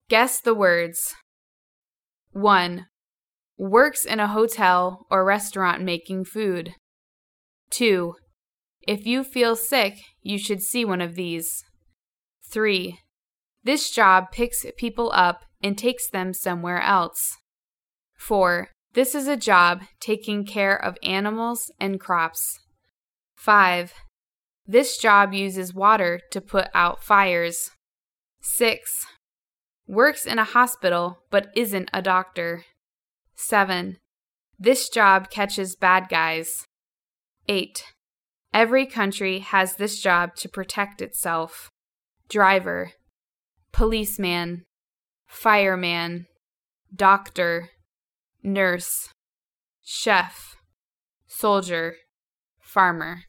Guess the words. 1. Works in a hotel or restaurant making food. 2. If you feel sick, you should see one of these. 3. This job picks people up and takes them somewhere else. 4. This is a job taking care of animals and crops. 5. This job uses water to put out fires. 6. Works in a hospital but isn't a doctor. 7. This job catches bad guys. 8. Every country has this job to protect itself. Driver, policeman, fireman, doctor, nurse, chef, soldier, farmer.